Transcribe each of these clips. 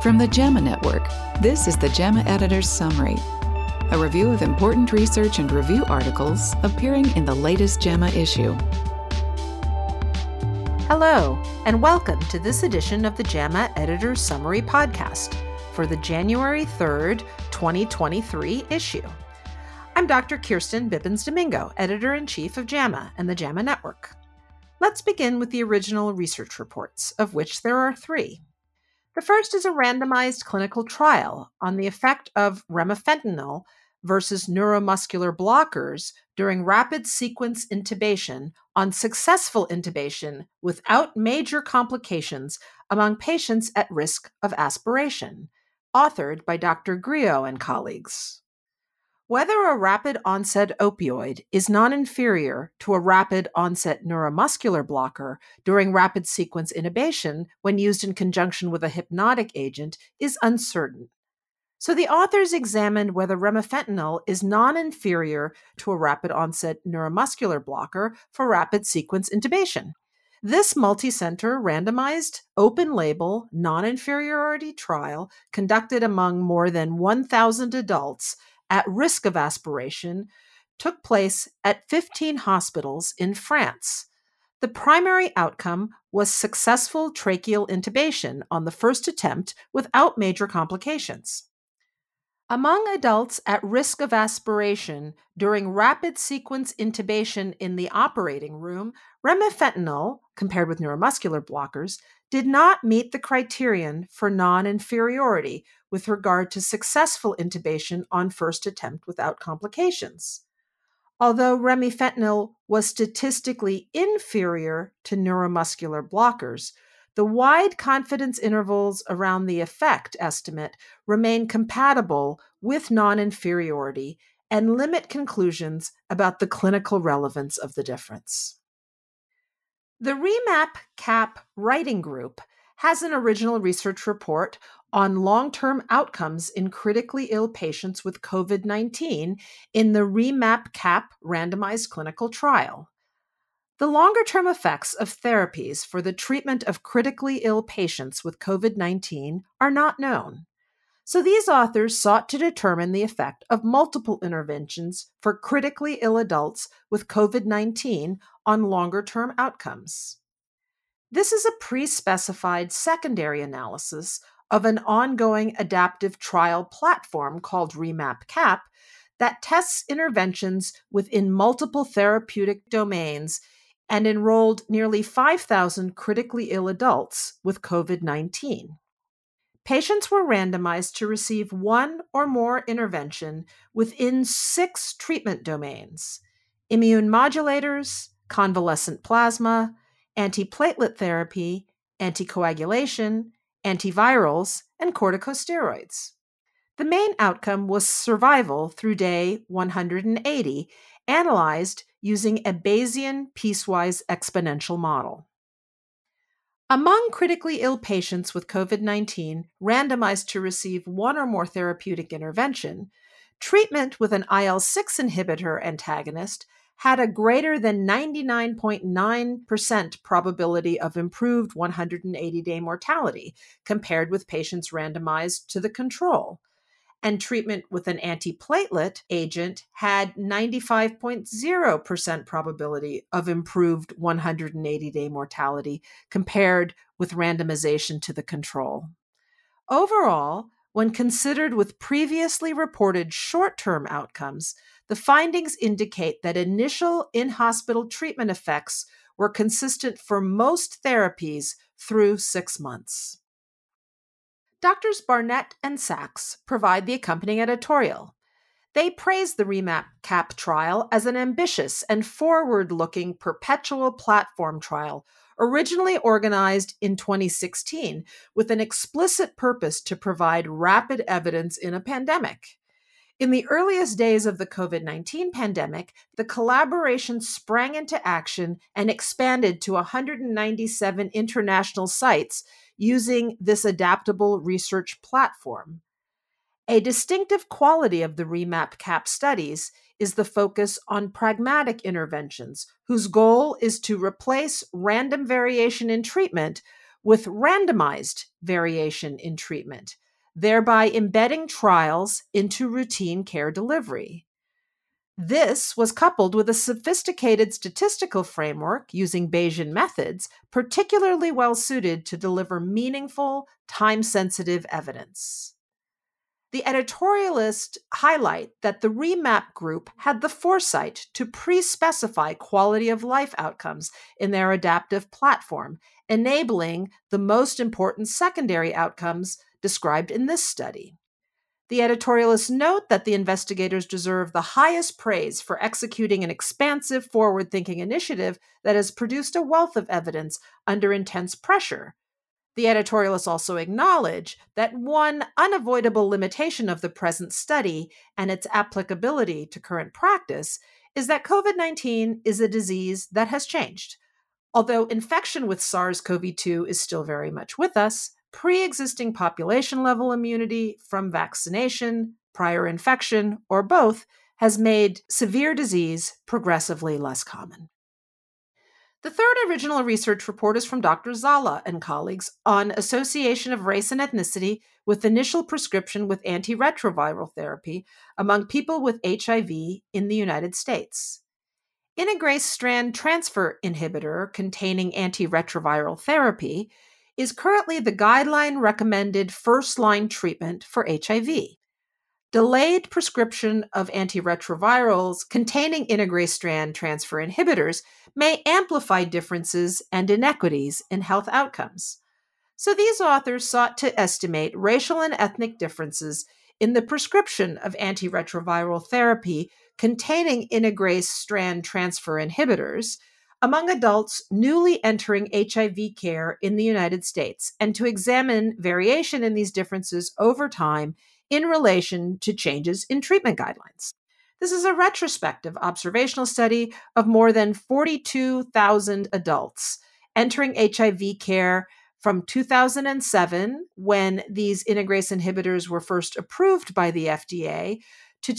From the JAMA Network, this is the JAMA Editor's Summary, a review of important research and review articles appearing in the latest JAMA issue. Hello, and welcome to this edition of the JAMA Editor's Summary podcast for the January 3rd, 2023 issue. I'm Dr. Kirsten Bibbins-Domingo, Editor-in-Chief of JAMA and the JAMA Network. Let's begin with the original research reports, of which there are 3. The first is a randomized clinical trial on the effect of remifentanil versus neuromuscular blockers during rapid sequence intubation on successful intubation without major complications among patients at risk of aspiration, authored by Dr. Griot and colleagues. Whether a rapid onset opioid is non-inferior to a rapid onset neuromuscular blocker during rapid sequence intubation when used in conjunction with a hypnotic agent is uncertain. So the authors examined whether remifentanil is non-inferior to a rapid onset neuromuscular blocker for rapid sequence intubation. This multi-center randomized open-label non-inferiority trial conducted among more than 1,000 adults at risk of aspiration took place at 15 hospitals in France. The primary outcome was successful tracheal intubation on the first attempt without major complications. Among adults at risk of aspiration during rapid sequence intubation in the operating room, remifentanil, compared with neuromuscular blockers, did not meet the criterion for non-inferiority with regard to successful intubation on first attempt without complications. Although remifentanil was statistically inferior to neuromuscular blockers, the wide confidence intervals around the effect estimate remain compatible with non-inferiority and limit conclusions about the clinical relevance of the difference. The REMAP-CAP writing group has an original research report on long-term outcomes in critically ill patients with COVID-19 in the REMAP-CAP randomized clinical trial. The longer-term effects of therapies for the treatment of critically ill patients with COVID-19 are not known. So these authors sought to determine the effect of multiple interventions for critically ill adults with COVID-19 on longer-term outcomes. This is a pre-specified secondary analysis of an ongoing adaptive trial platform called REMAP-CAP that tests interventions within multiple therapeutic domains and enrolled nearly 5,000 critically ill adults with COVID-19. Patients were randomized to receive one or more intervention within 6 treatment domains: immune modulators, convalescent plasma, antiplatelet therapy, anticoagulation, antivirals, and corticosteroids. The main outcome was survival through day 180, analyzed using a Bayesian piecewise exponential model. Among critically ill patients with COVID-19 randomized to receive one or more therapeutic intervention, treatment with an IL-6 inhibitor antagonist had a greater than 99.9% probability of improved 180-day mortality compared with patients randomized to the control. And treatment with an antiplatelet agent had 95.0% probability of improved 180-day mortality compared with randomization to the control. Overall, when considered with previously reported short-term outcomes, the findings indicate that initial in-hospital treatment effects were consistent for most therapies through 6 months. Doctors Barnett and Sachs provide the accompanying editorial. They praise the REMAP-CAP trial as an ambitious and forward-looking perpetual platform trial originally organized in 2016 with an explicit purpose to provide rapid evidence in a pandemic. In the earliest days of the COVID-19 pandemic, the collaboration sprang into action and expanded to 197 international sites using this adaptable research platform. A distinctive quality of the REMAP-CAP studies is the focus on pragmatic interventions, whose goal is to replace random variation in treatment with randomized variation in treatment, thereby embedding trials into routine care delivery. This was coupled with a sophisticated statistical framework using Bayesian methods, particularly well suited to deliver meaningful, time-sensitive evidence. The editorialists highlight that the REMAP group had the foresight to pre-specify quality of life outcomes in their adaptive platform, enabling the most important secondary outcomes described in this study. The editorialists note that the investigators deserve the highest praise for executing an expansive, forward-thinking initiative that has produced a wealth of evidence under intense pressure. The editorialists also acknowledge that one unavoidable limitation of the present study and its applicability to current practice is that COVID-19 is a disease that has changed. Although infection with SARS-CoV-2 is still very much with us, pre-existing population-level immunity from vaccination, prior infection, or both has made severe disease progressively less common. The third original research report is from Dr. Zala and colleagues on association of race and ethnicity with initial prescription with antiretroviral therapy among people with HIV in the United States. Integrase strand transfer inhibitor containing antiretroviral therapy is currently the guideline-recommended first-line treatment for HIV. Delayed prescription of antiretrovirals containing integrase strand transfer inhibitors may amplify differences and inequities in health outcomes. So these authors sought to estimate racial and ethnic differences in the prescription of antiretroviral therapy containing integrase strand transfer inhibitors among adults newly entering HIV care in the United States, and to examine variation in these differences over time in relation to changes in treatment guidelines. This is a retrospective observational study of more than 42,000 adults entering HIV care from 2007, when these integrase inhibitors were first approved by the FDA, to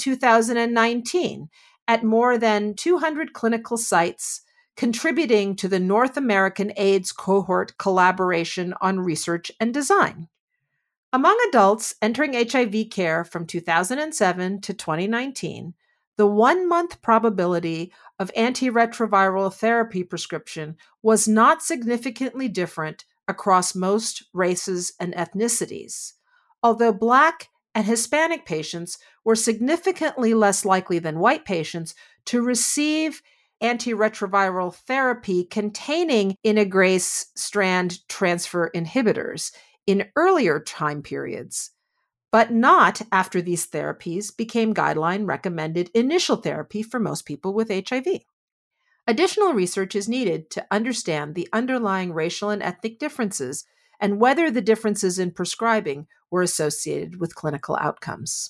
2019 at more than 200 clinical sites, contributing to the North American AIDS Cohort Collaboration on Research and Design. Among adults entering HIV care from 2007 to 2019, the 1-month probability of antiretroviral therapy prescription was not significantly different across most races and ethnicities, although Black and Hispanic patients were significantly less likely than white patients to receive antiretroviral therapy containing integrase strand transfer inhibitors in earlier time periods, but not after these therapies became guideline-recommended initial therapy for most people with HIV. Additional research is needed to understand the underlying racial and ethnic differences and whether the differences in prescribing were associated with clinical outcomes.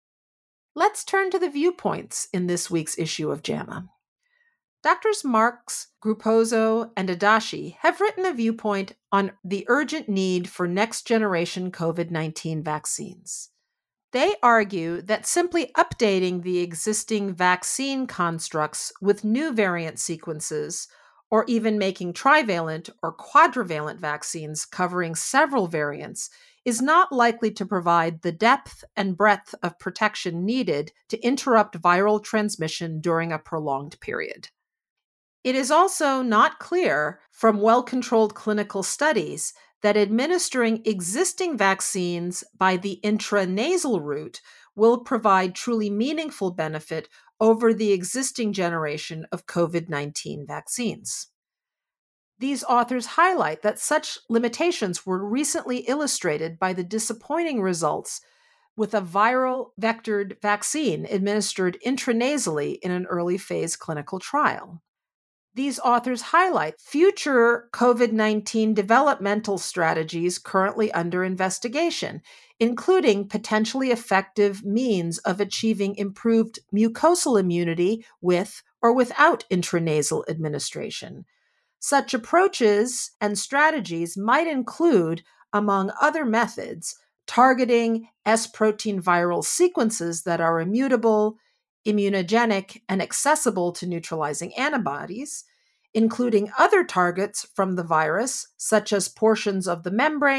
Let's turn to the viewpoints in this week's issue of JAMA. Doctors Marks, Grupozo, and Adachi have written a viewpoint on the urgent need for next-generation COVID-19 vaccines. They argue that simply updating the existing vaccine constructs with new variant sequences, or even making trivalent or quadrivalent vaccines covering several variants, is not likely to provide the depth and breadth of protection needed to interrupt viral transmission during a prolonged period. It is also not clear from well-controlled clinical studies that administering existing vaccines by the intranasal route will provide truly meaningful benefit over the existing generation of COVID-19 vaccines. These authors highlight that such limitations were recently illustrated by the disappointing results with a viral vectored vaccine administered intranasally in an early phase clinical trial. These authors highlight future COVID-19 developmental strategies currently under investigation, including potentially effective means of achieving improved mucosal immunity with or without intranasal administration. Such approaches and strategies might include, among other methods, targeting S-protein viral sequences that are immutable, immunogenic, and accessible to neutralizing antibodies, including other targets from the virus, such as portions of the membrane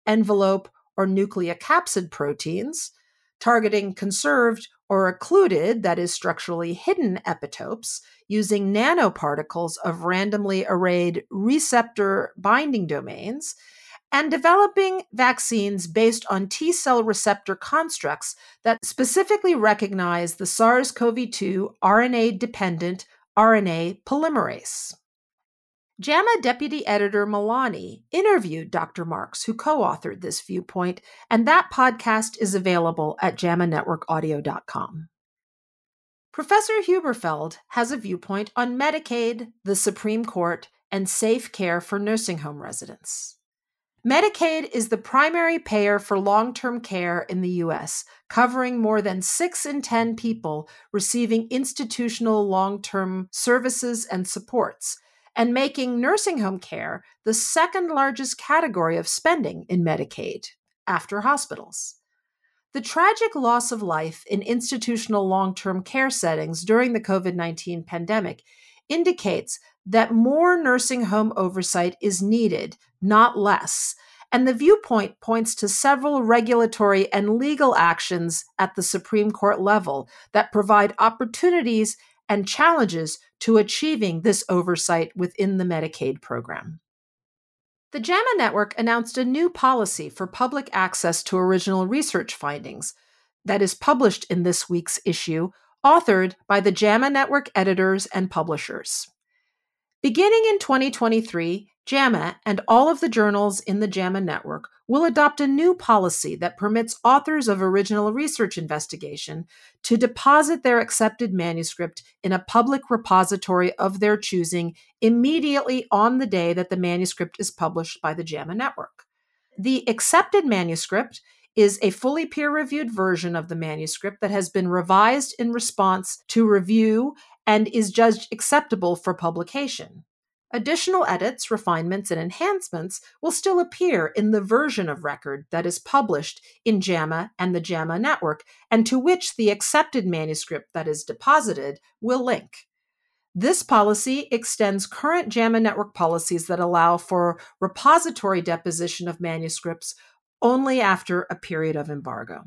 envelope, or nucleocapsid proteins, targeting conserved or occluded, that is, structurally hidden epitopes, using nanoparticles of randomly arrayed receptor binding domains, and developing vaccines based on T-cell receptor constructs that specifically recognize the SARS-CoV-2 RNA-dependent RNA polymerase. JAMA Deputy Editor Milani interviewed Dr. Marks, who co-authored this viewpoint, and that podcast is available at JAMAnetworkaudio.com. Professor Huberfeld has a viewpoint on Medicaid, the Supreme Court, and safe care for nursing home residents. Medicaid is the primary payer for long-term care in the U.S., covering more than 6 in 10 people receiving institutional long-term services and supports, and making nursing home care the second largest category of spending in Medicaid, after hospitals. The tragic loss of life in institutional long-term care settings during the COVID-19 pandemic indicates that more nursing home oversight is needed, not less, and the viewpoint points to several regulatory and legal actions at the Supreme Court level that provide opportunities and challenges to achieving this oversight within the Medicaid program. The JAMA Network announced a new policy for public access to original research findings that is published in this week's issue, authored by the JAMA Network editors and publishers. Beginning in 2023, JAMA and all of the journals in the JAMA Network will adopt a new policy that permits authors of original research investigation to deposit their accepted manuscript in a public repository of their choosing immediately on the day that the manuscript is published by the JAMA Network. The accepted manuscript is a fully peer-reviewed version of the manuscript that has been revised in response to review and is judged acceptable for publication. Additional edits, refinements, and enhancements will still appear in the version of record that is published in JAMA and the JAMA Network, and to which the accepted manuscript that is deposited will link. This policy extends current JAMA Network policies that allow for repository deposition of manuscripts only after a period of embargo.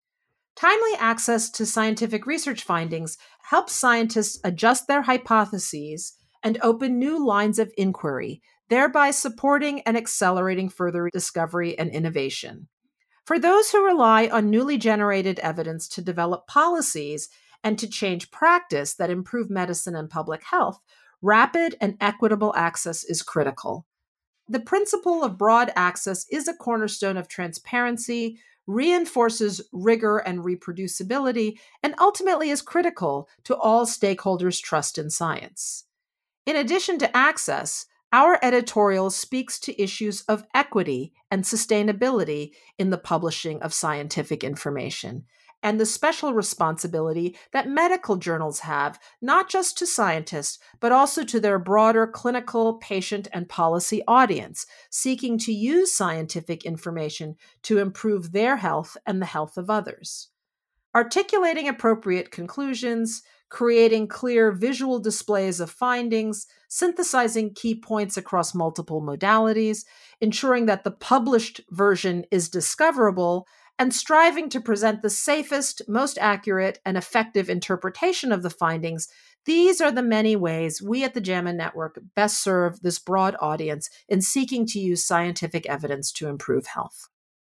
Timely access to scientific research findings helps scientists adjust their hypotheses and open new lines of inquiry, thereby supporting and accelerating further discovery and innovation. For those who rely on newly generated evidence to develop policies and to change practice that improve medicine and public health, rapid and equitable access is critical. The principle of broad access is a cornerstone of transparency, reinforces rigor and reproducibility, and ultimately is critical to all stakeholders' trust in science. In addition to access, our editorial speaks to issues of equity and sustainability in the publishing of scientific information, and the special responsibility that medical journals have, not just to scientists, but also to their broader clinical, patient, and policy audience, seeking to use scientific information to improve their health and the health of others. Articulating appropriate conclusions, creating clear visual displays of findings, synthesizing key points across multiple modalities, ensuring that the published version is discoverable, and striving to present the safest, most accurate, and effective interpretation of the findings. These are the many ways we at the JAMA Network best serve this broad audience in seeking to use scientific evidence to improve health.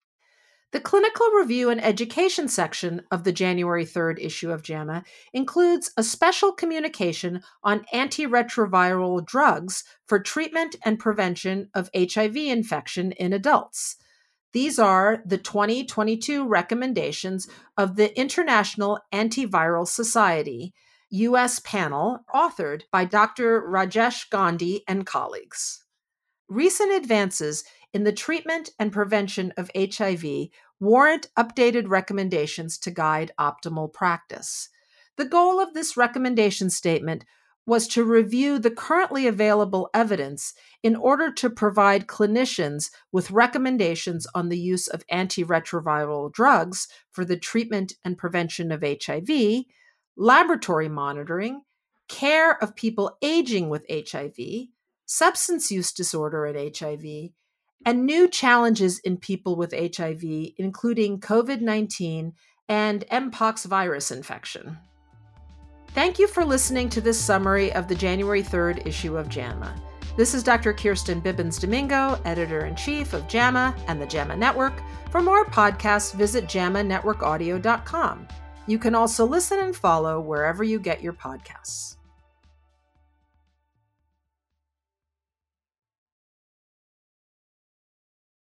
The Clinical Review and Education section of the January 3rd issue of JAMA includes a special communication on antiretroviral drugs for treatment and prevention of HIV infection in adults. These are the 2022 recommendations of the International Antiviral Society, U.S. panel, authored by Dr. Rajesh Gandhi and colleagues. Recent advances in the treatment and prevention of HIV warrant updated recommendations to guide optimal practice. The goal of this recommendation statement was to review the currently available evidence in order to provide clinicians with recommendations on the use of antiretroviral drugs for the treatment and prevention of HIV, laboratory monitoring, care of people aging with HIV, substance use disorder and HIV, and new challenges in people with HIV, including COVID-19 and Mpox virus infection. Thank you for listening to this summary of the January 3rd issue of JAMA. This is Dr. Kirsten Bibbins-Domingo, Editor-in-Chief of JAMA and the JAMA Network. For more podcasts, visit JAMANetworkaudio.com. You can also listen and follow wherever you get your podcasts.